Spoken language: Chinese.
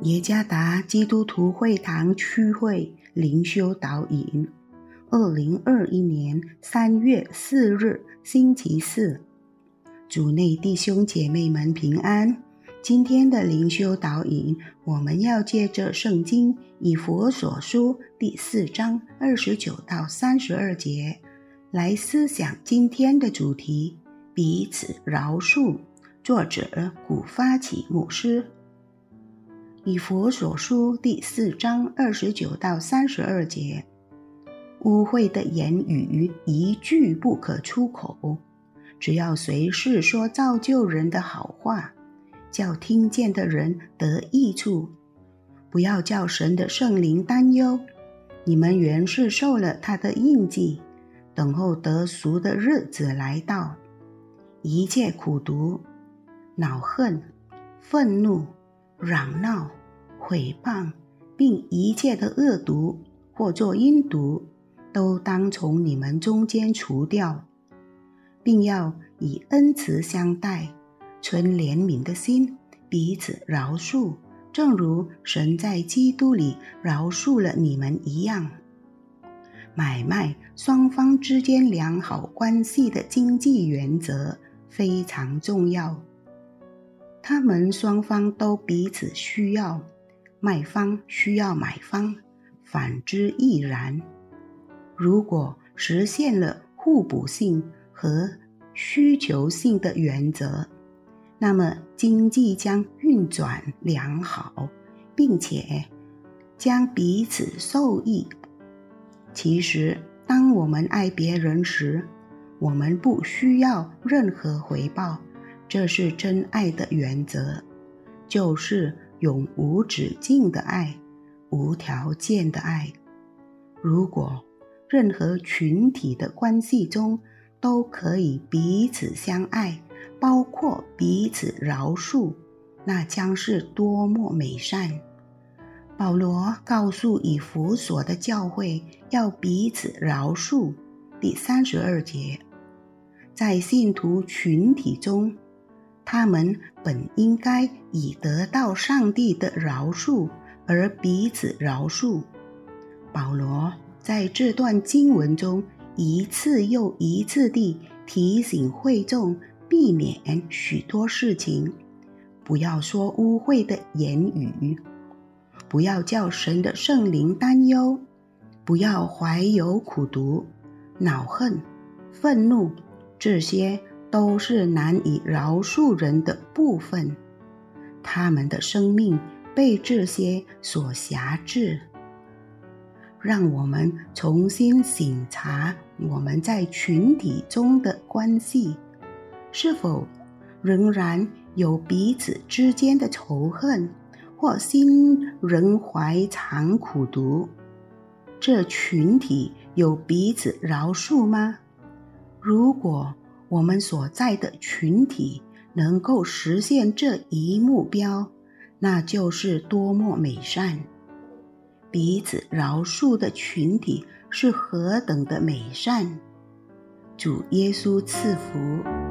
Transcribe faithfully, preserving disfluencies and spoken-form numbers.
耶加达基督徒会堂区会灵修导引，二零二一年三月四日星期四，主内弟兄姐妹们平安。今天的灵修导引，我们要借着圣经以弗所书第四章二十九到三十二节来思想今天的主题：彼此饶恕。作者古发起牧师。以弗所书第四章二十九到三十二节，污秽的言语一句不可出口，只要随时说造就人的好话，叫听见的人得益处。不要叫神的圣灵担忧，你们原是受了他的印记，等候得赎的日子来到。一切苦毒、恼恨、愤怒、嚷闹、毁谤，并一切的恶毒或作阴毒，都当从你们中间除掉，并要以恩慈相待，存怜悯的心，彼此饶恕，正如神在基督里饶恕了你们一样。买卖双方之间良好关系的经济原则非常重要，他们双方都彼此需要，卖方需要买方，反之亦然。如果实现了互补性和需求性的原则，那么经济将运转良好，并且将彼此受益。其实，当我们爱别人时，我们不需要任何回报，这是真爱的原则，就是永无止境的爱，无条件的爱。如果任何群体的关系中都可以彼此相爱，包括彼此饶恕，那将是多么美善。保罗告诉以弗所的教会要彼此饶恕，第三十二节，在信徒群体中，他们本应该以得到上帝的饶恕而彼此饶恕。保罗在这段经文中一次又一次地提醒会众避免许多事情，不要说污秽的言语，不要叫神的圣灵担忧，不要怀有苦毒、恼恨、愤怒，这些都是难以饶恕人的部分，他们的生命被这些所辖制。让我们重新省察我们在群体中的关系，是否仍然有彼此之间的仇恨，或心仍怀藏苦毒？这群体有彼此饶恕吗？如果我们所在的群体能够实现这一目标，那就是多么美善！彼此饶恕的群体是何等的美善！主耶稣赐福。